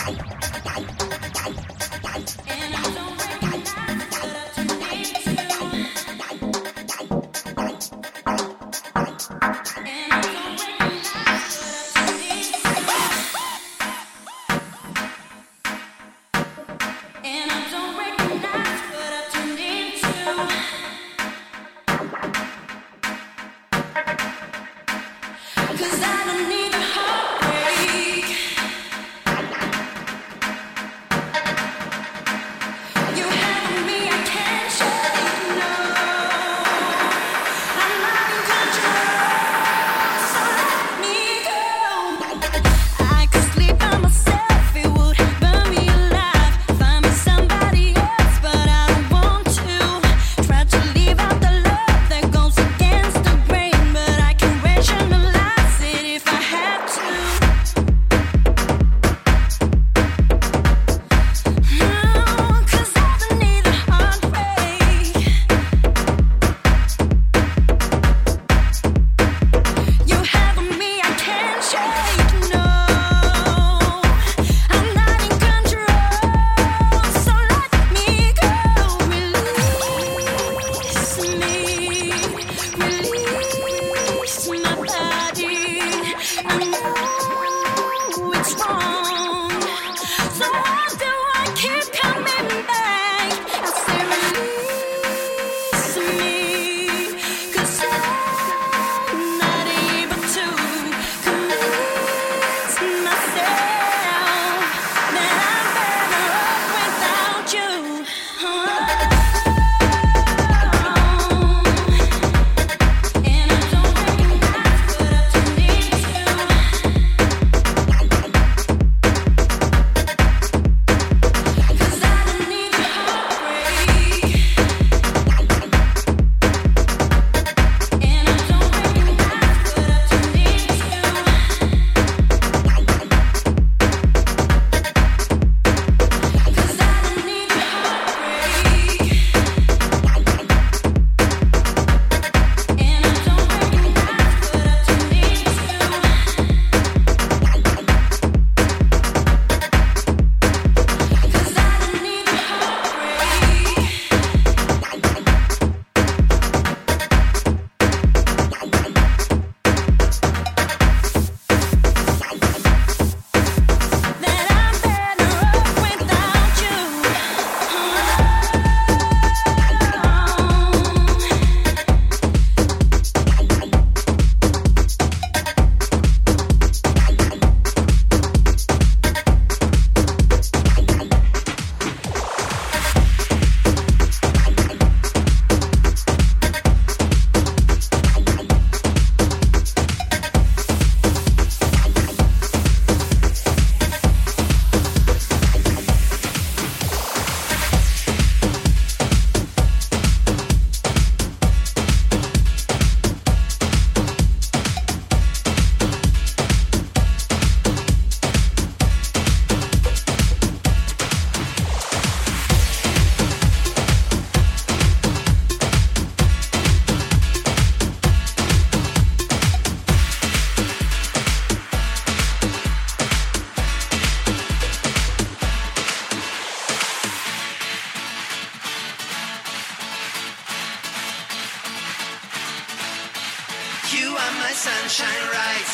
sunshine right,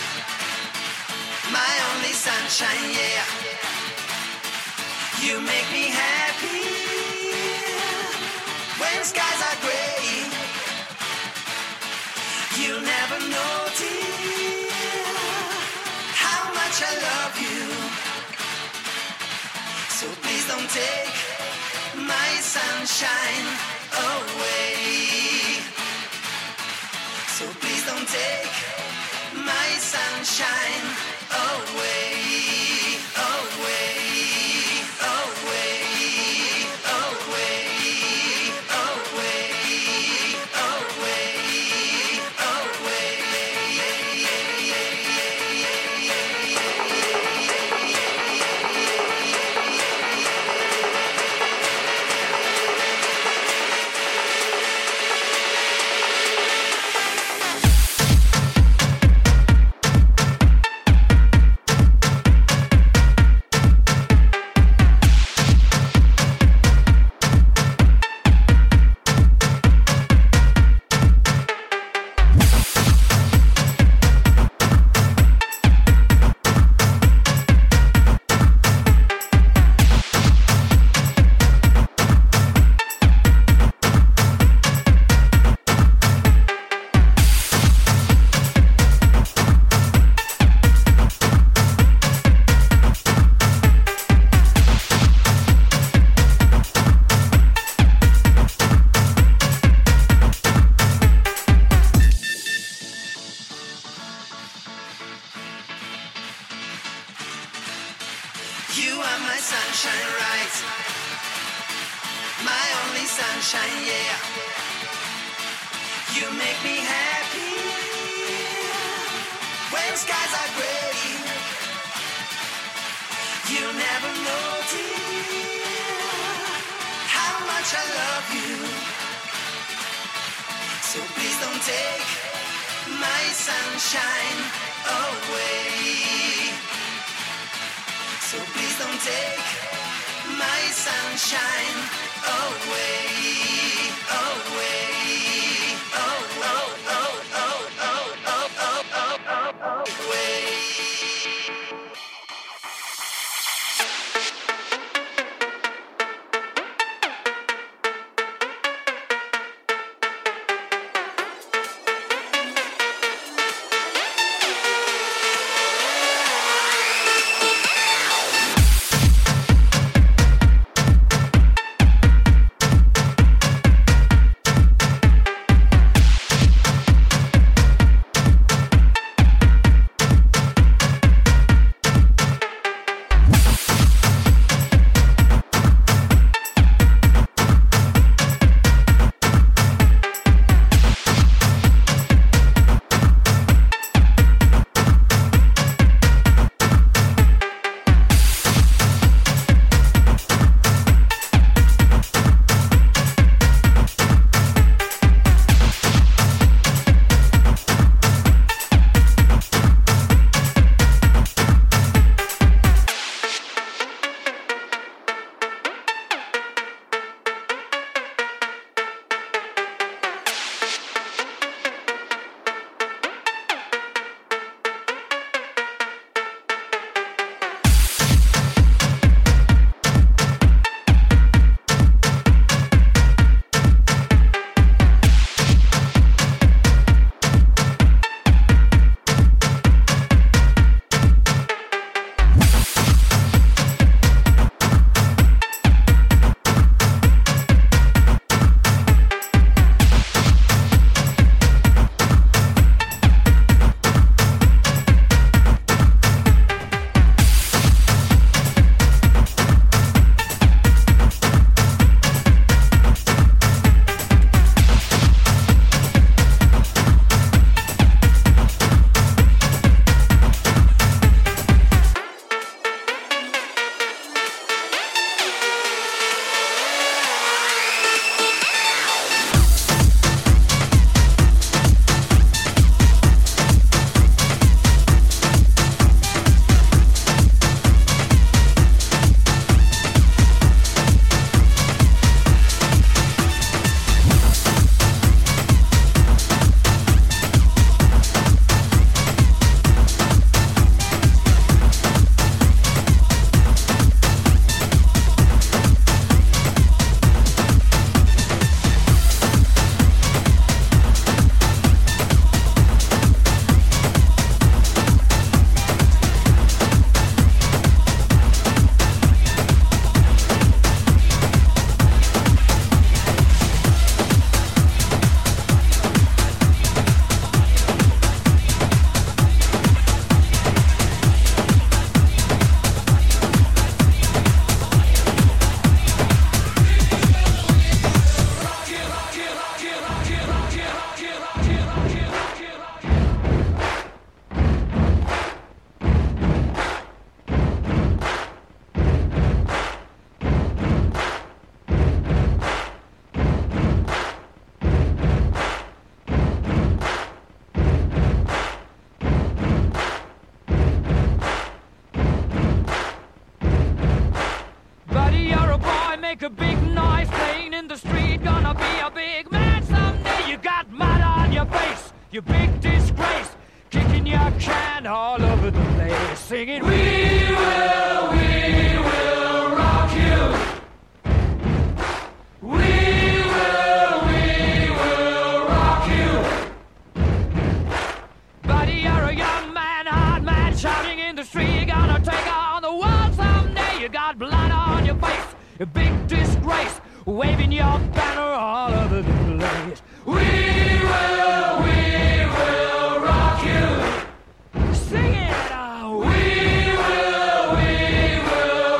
my only sunshine, yeah. You make me happy when skies are gray. You'll never know, dear, how much I love you. So please don't take my sunshine away. So please don't take my sunshine away, away, away, away, away, away, You are my sunshine, right? My only sunshine, yeah. You make me happy when skies are gray. You never know, dear, how much I love you. So please don't take my sunshine away. So please don't take my sunshine away, away. Oh, oh, oh, oh, oh, oh, oh, oh, oh, oh, away. make a big noise playing in the street. Gonna be a big man someday. You got mud on your face, you big disgrace. Kicking your can all over the place, singing, we will rock you. We will rock you. Buddy, you're a young man, hard man, shouting in the street. Gonna take on the world someday. You got blood on your face, a big disgrace, waving your banner all over the place. We will rock you. Sing it, we will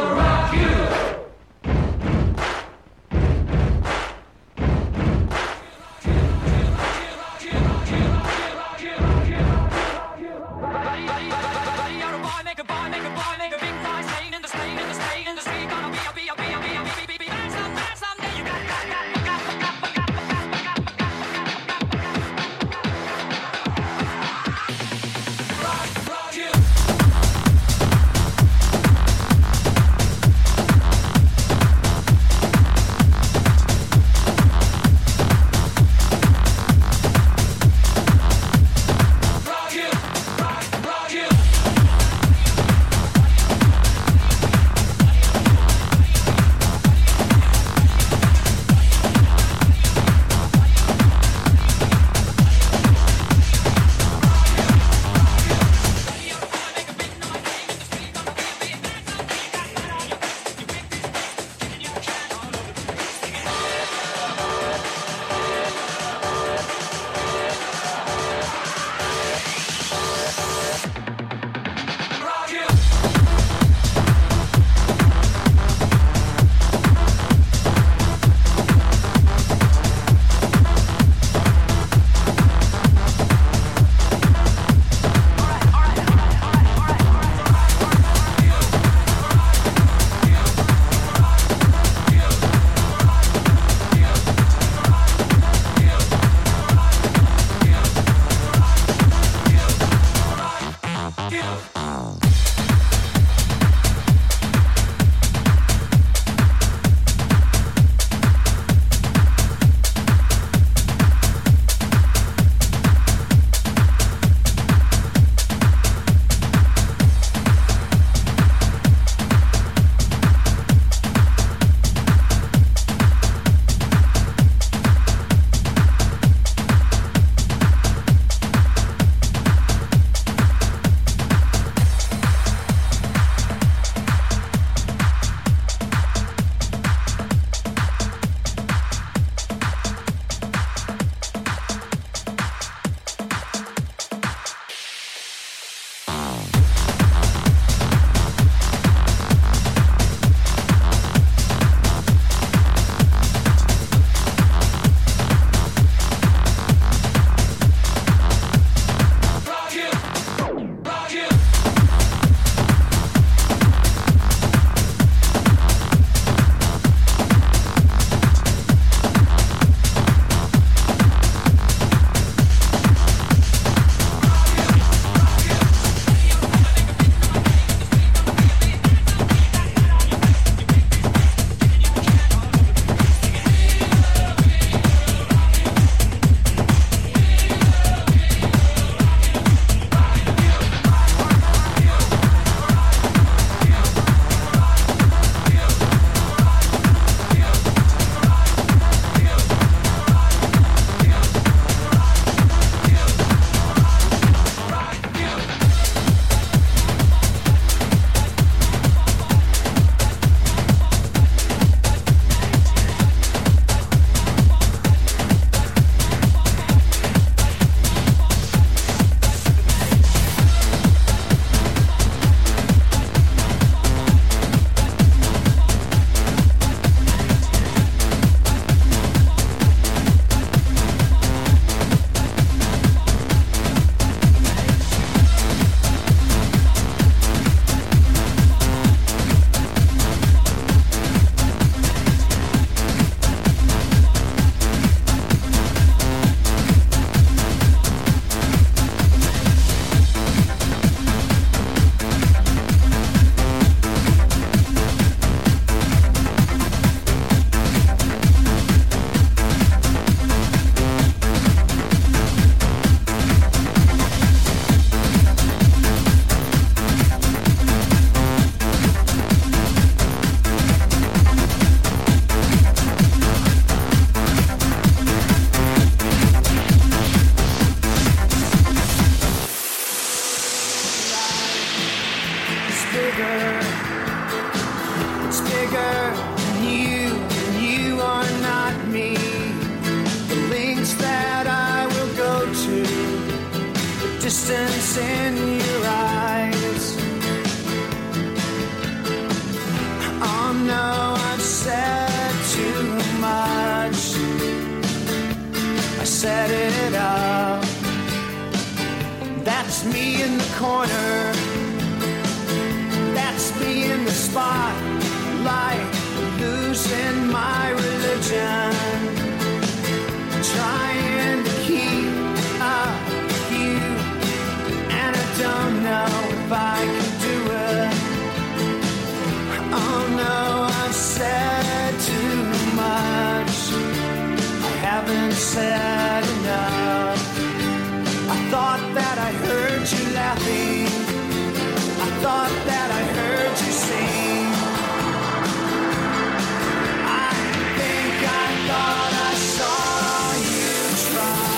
corner. It's bigger than you, and you are not me. The lengths that I will go to, the distance in your eyes. Oh no, I've said too much. I set it up. That's me in the corner. That's me in the spotlight, losing my religion, trying to keep up with you, and I don't know if I can do it. Oh no, I've said too much. I haven't said enough. I thought that I heard you laughing. I thought that I heard you sing. I think I thought I saw you try.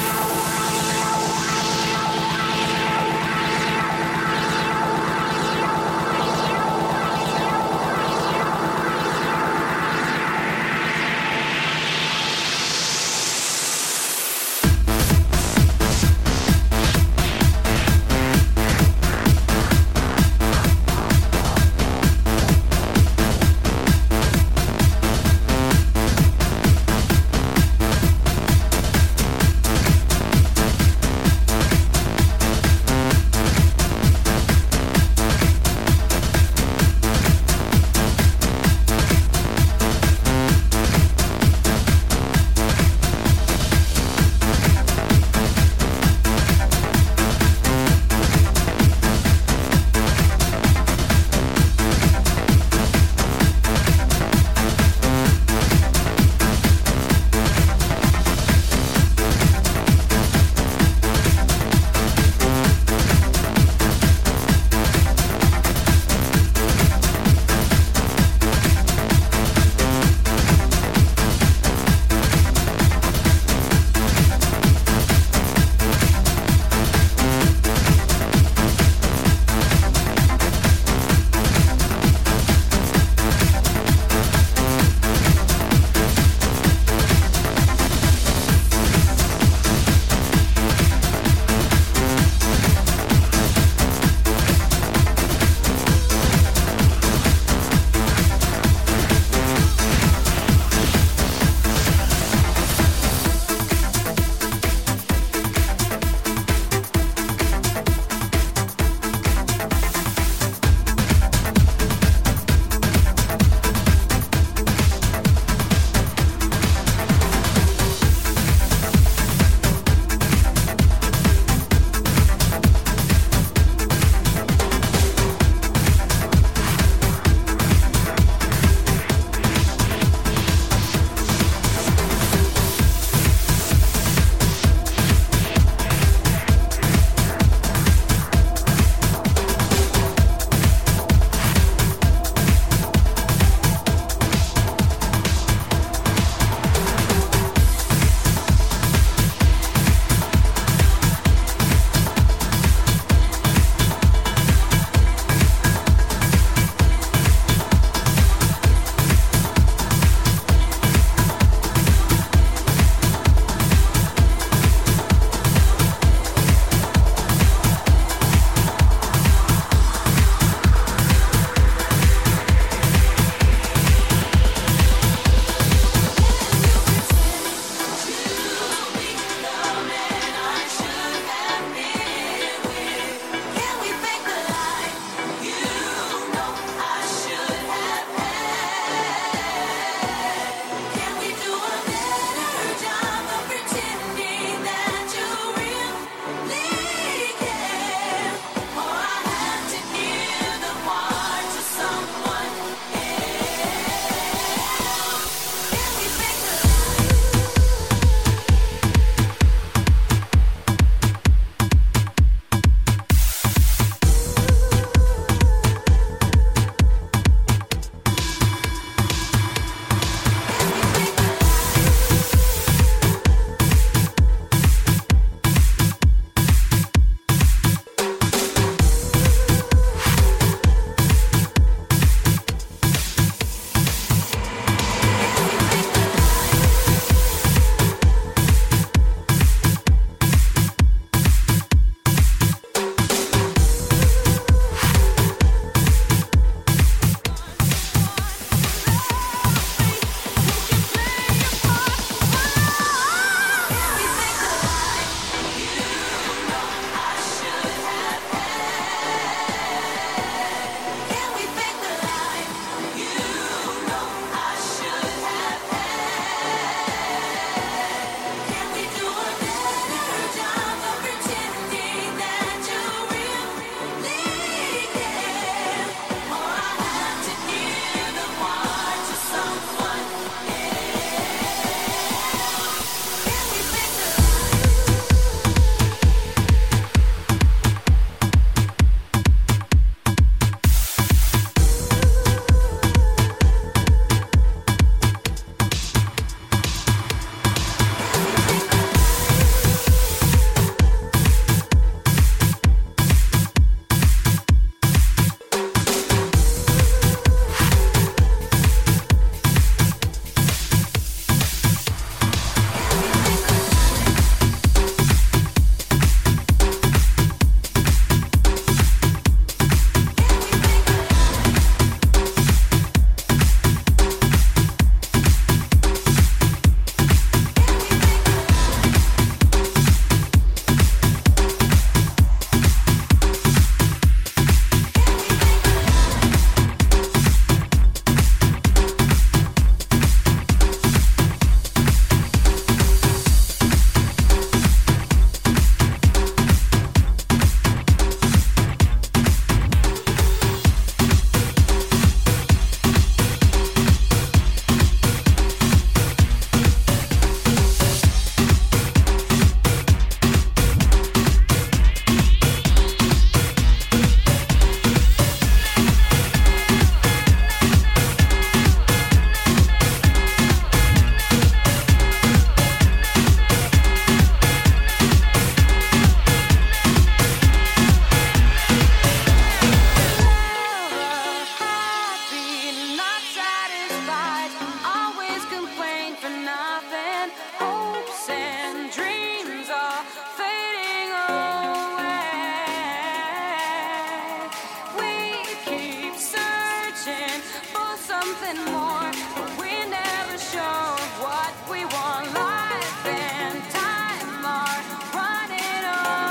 for something more, but we never show what we want. Life and time are running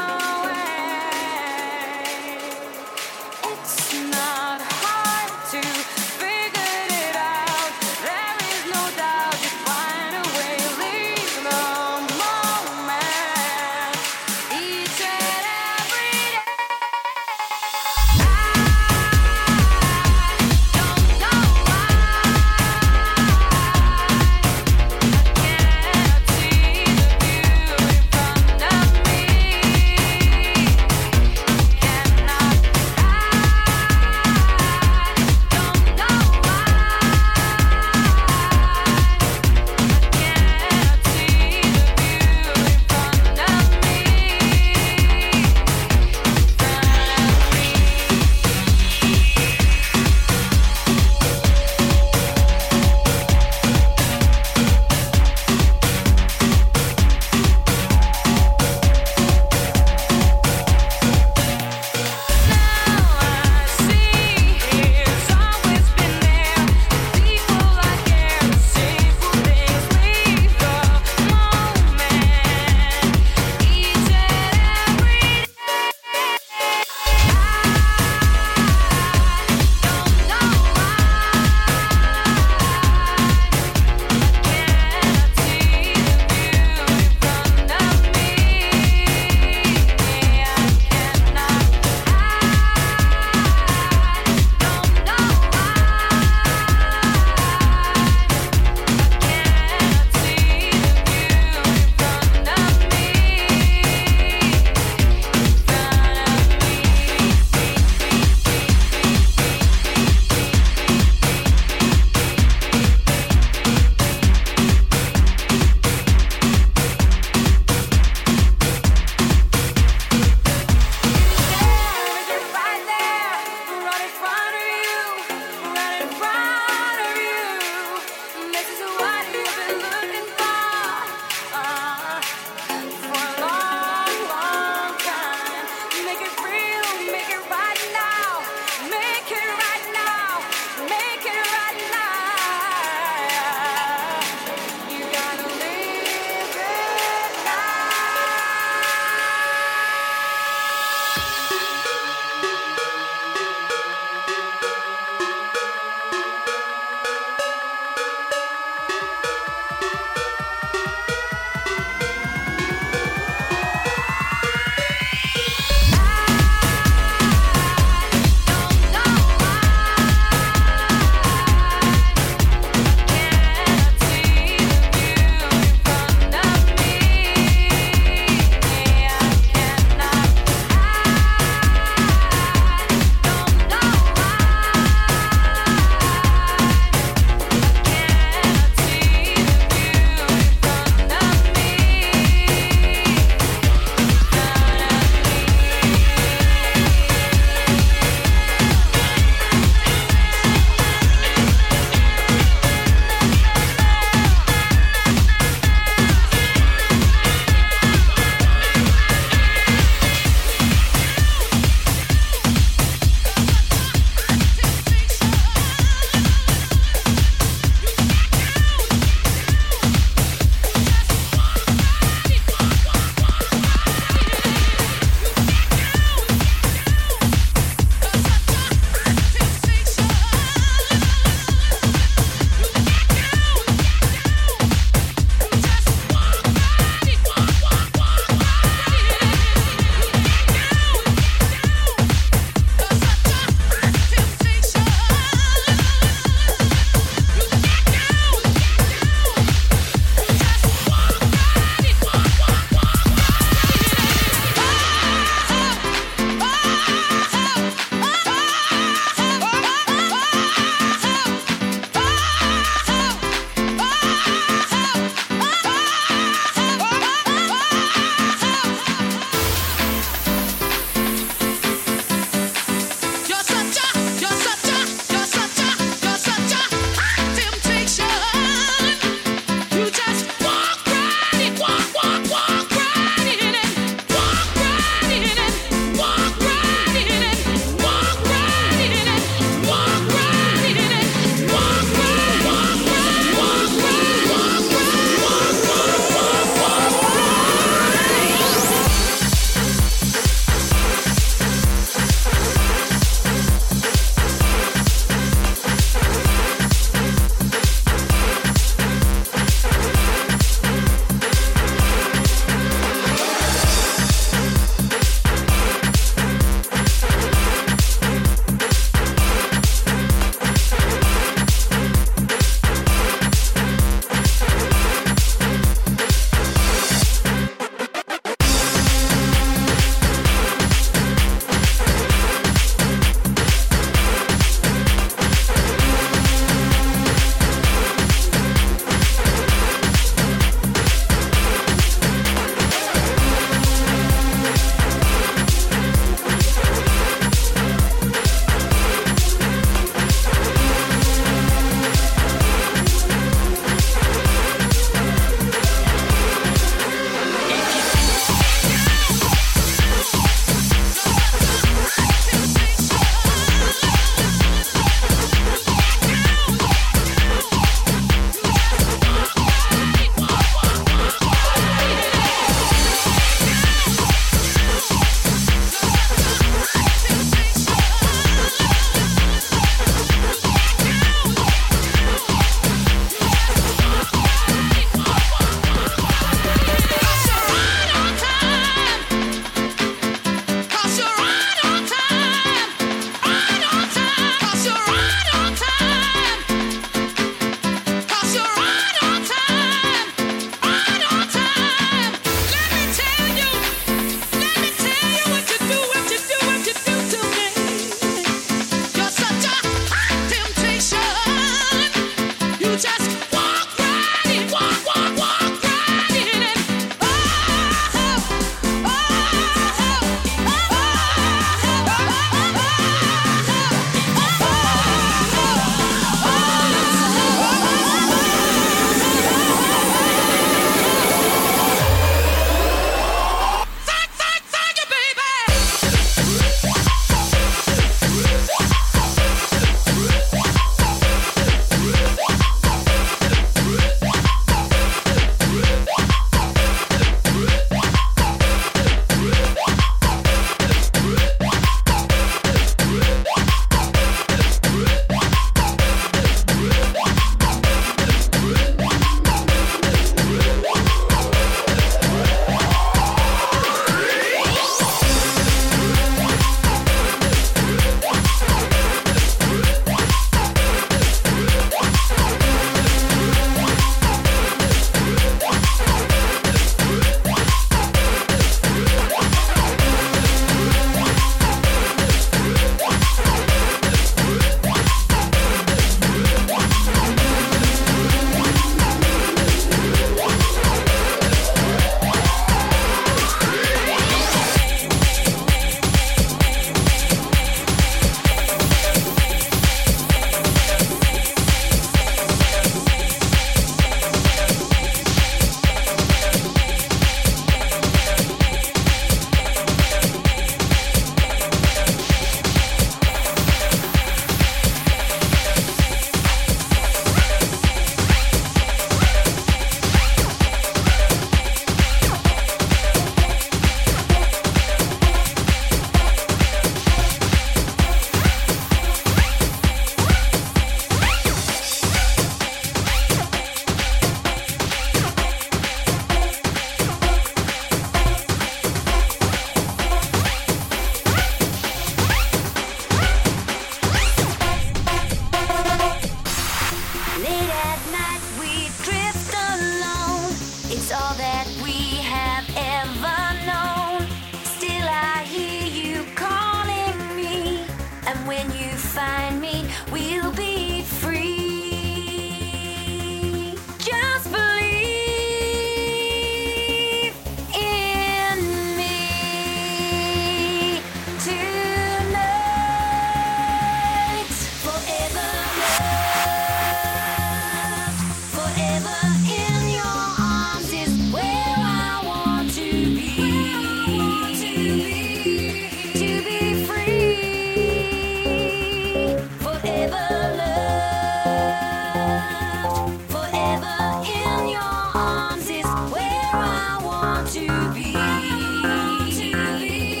away. It's not hard to figure it out. There is no doubt you find a way. Leave the moment each and every day. I don't know why I can't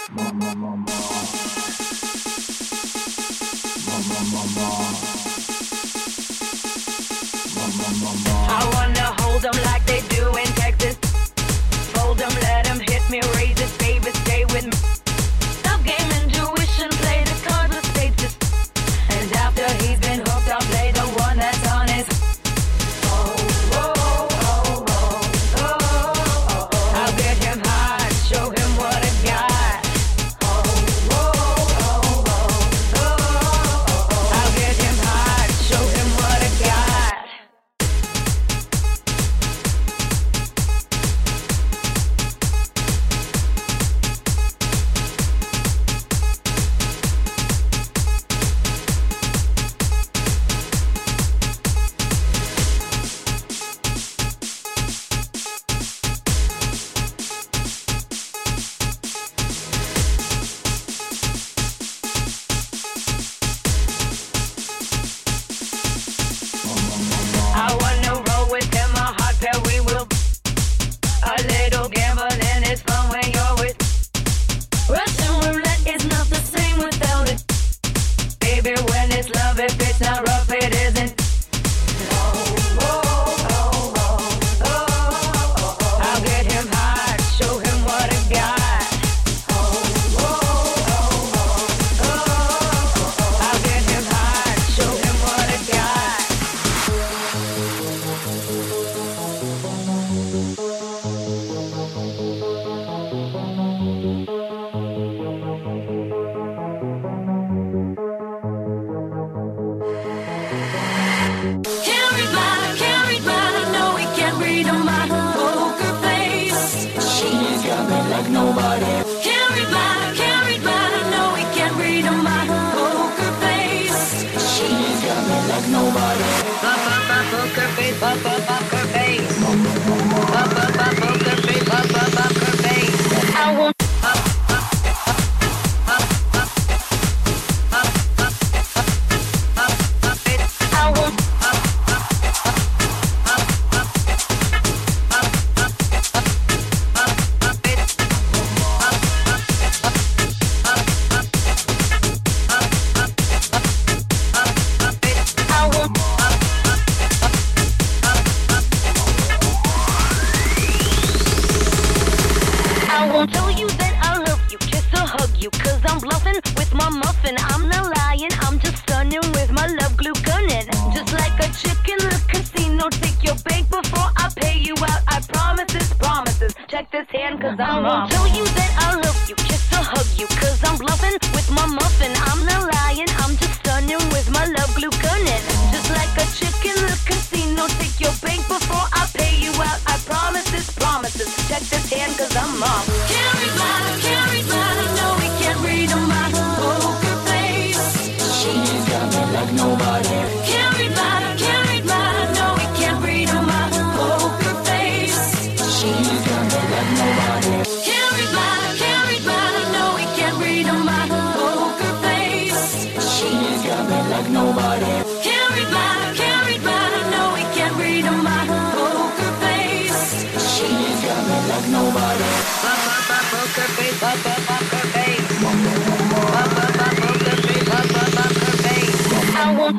I wanna hold them like they do in Texas. Fold them, let them hit me, raise it, baby, stay with me. Stop gaming, tuition, play the cards with stages. And after he's been hooked, I'll play the one that's on his. I'll get him hot, show him what I got. I'll get him hot, show him what I got. I wanna roll with him, a hot pair we will. A little gambling is fun when you're with. Russian roulette is not the same without it. Baby, when it's love, if it's not rough, it isn't. I'll get him hot, show him what I got. I'll get him hot, show him what I got. Can't read mine, I know he can't read on my poker face. She's got me like nobody. Can't read mine, I know he can't read on my poker face. She's got me like nobody. Poker face, poker face. Poker face, poker face. I want. I want. I want. I won't tell you that I love you, just to hug you, cause I'm bluffing with my muffin. I'm not lying, I'm just stunning with my love glue gunning. Just like a chick in the casino, take your bank before I pay you out. I promises, promises, check this hand cause I'm wrong. I won't tell you that I love you, just to hug you, cause I'm bluffing with my muffin. I'm not lying, I'm just stunning with my love glue gunning. Just like a chick in the casino, take your bank before I pay you out. I promises, promises, check this hand cause I'm wrong. Can't read mine, I know he can't read on my poker face. She's got me like nobody. Can't read mine, I know he can't read on my poker face. She's got me like nobody. Can't read mine, I know he can't read on my poker face. She's got me like nobody. Can't read mine, I know he can't read on my poker face. She's got me like nobody. Poker face, poker face. Poker face, poker face. I want.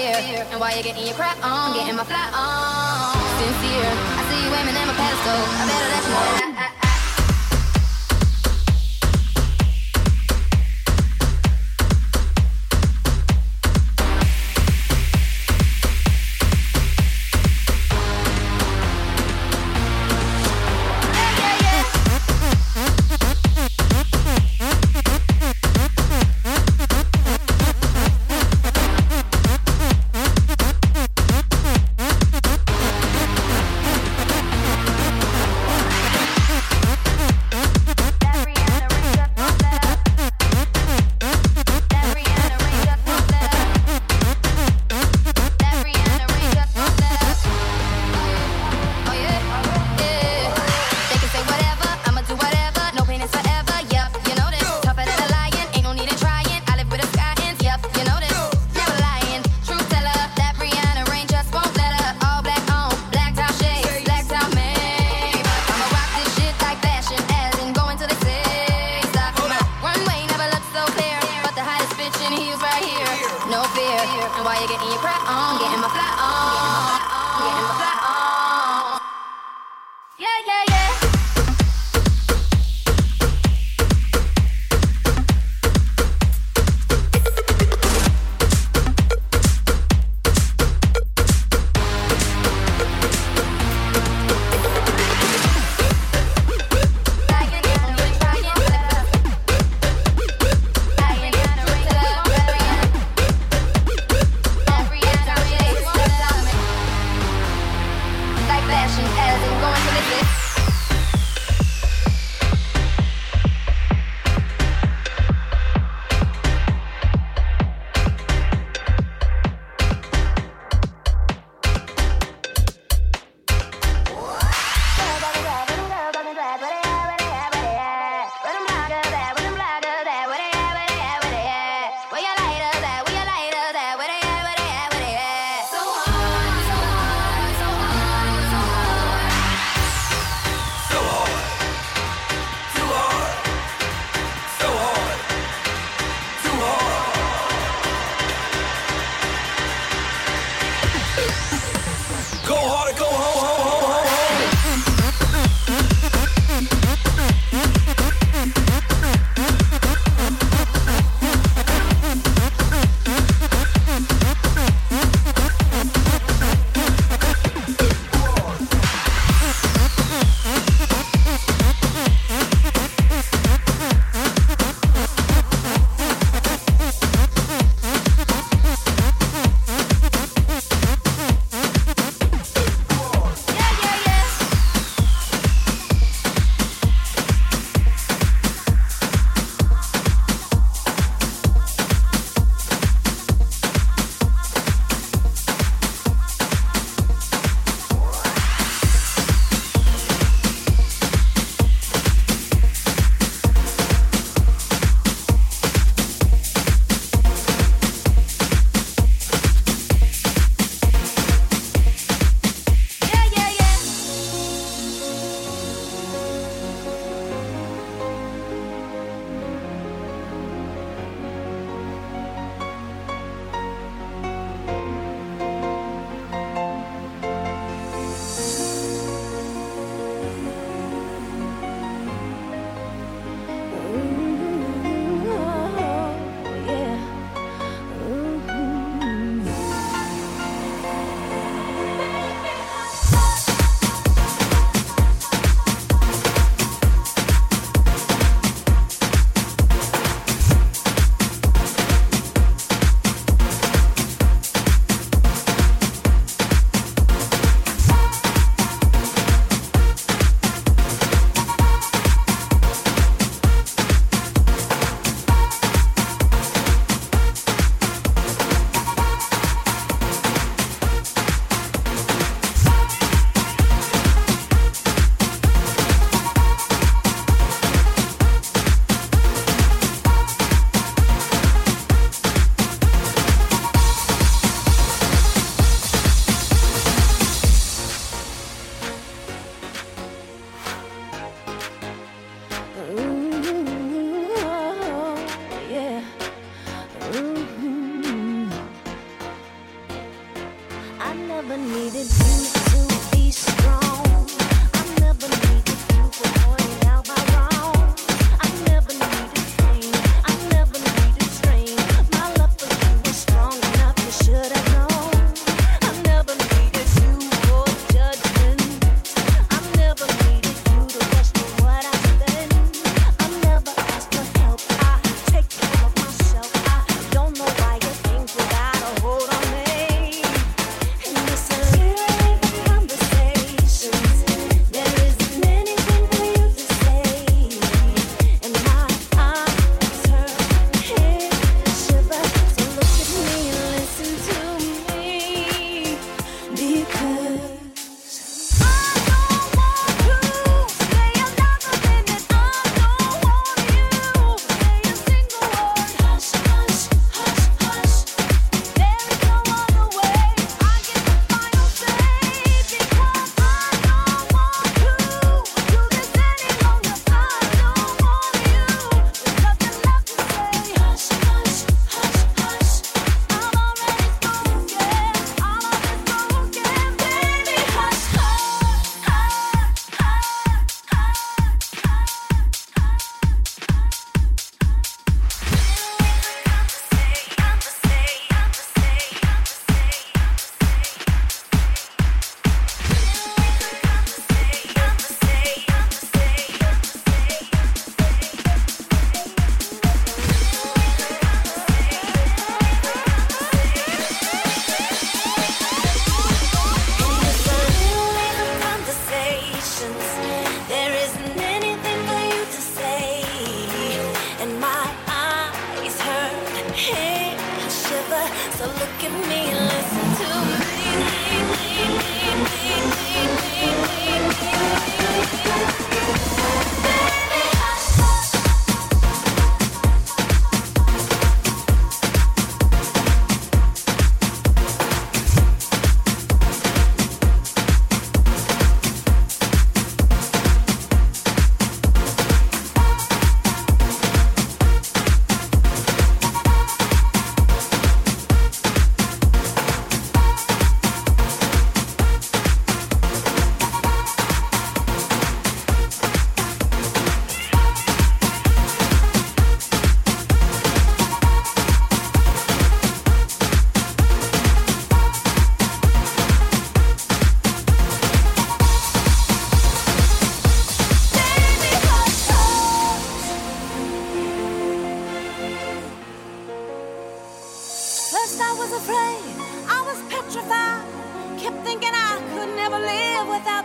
fear. And while you're getting your crap on, getting my fly on. Sincere, I see you aiming at my pedestal. I better let you know that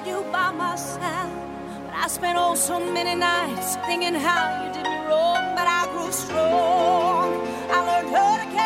you by my side. But I spent oh so many nights thinking how you did me wrong. But I grew strong. I learned how to carry